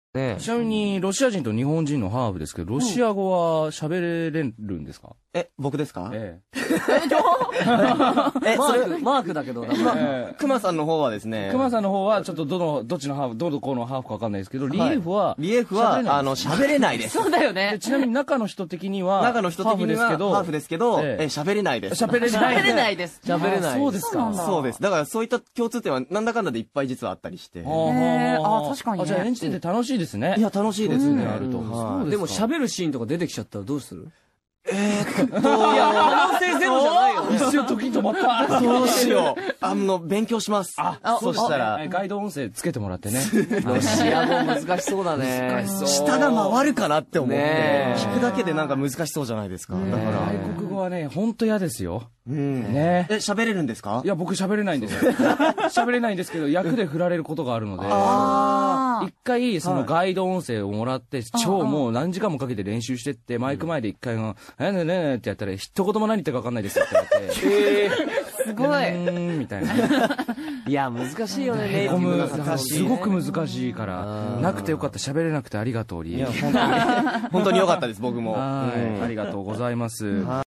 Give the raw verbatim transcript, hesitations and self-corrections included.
ね。 ちなみに、ロシア人と日本人のハーフですけど、ロシア語は喋れるんですか？ え、僕ですか？ ええ。 え、 マそれ、 ーク、マークだけど、名ま前。 あ、熊さんの方はですね、 熊さんの方は、ちょっとどの、どっちのハーフ、どのこのハーフかわかんないですけど、リエフは、 リエフは、あの、喋れないです。 そうだよでね。 ちなみに中の人的には、 中の人的には、ハーフですけど、 えええ、喋れないです。 喋れない。 喋れないです。 喋れない。 そうですか。 そうです。だからそういった共通点はなんだかんだでいっぱい実はあったりして。 はあはへーああ確かにねあ、じゃあ演じてて楽しいですね。 いや、楽しいですね。 なると。 はいでも喋るシーンとか出てきちゃったらどうする？ えーっと、 いや、可能性ゼロじゃないよ。 一瞬時止まった。 どうしよう。あの、勉強します。 あ、 そしたら、 ガイド音声つけてもらってね。 ロシア語難しそうだね。 難しそう。 下が回るかなって思って、 ねえ聞くだけでなんか難しそうじゃないですか。だから。 外国語はね、ほんと嫌ですよ。 うん。 ねえ、喋れるんですか？ いや、僕喋れないんですよ。喋れないんですけど、役で振られることがあるので、 あ一回、そのガイド音声をもらって、超もう何時間もかけて練習してって、マイク前で一回の、えねねねってやったら、一言も何言ってるか分かんないですよって言われて、 えーすごい。 うーん、みたいな。 いや、難しいよね、ネイティ込むブな発音すごく難しいから、なくてよかった、喋れなくてありがとう、リエ。 いや、本当に、本当に良かったです、僕も。 はい、 うんありがとうございます。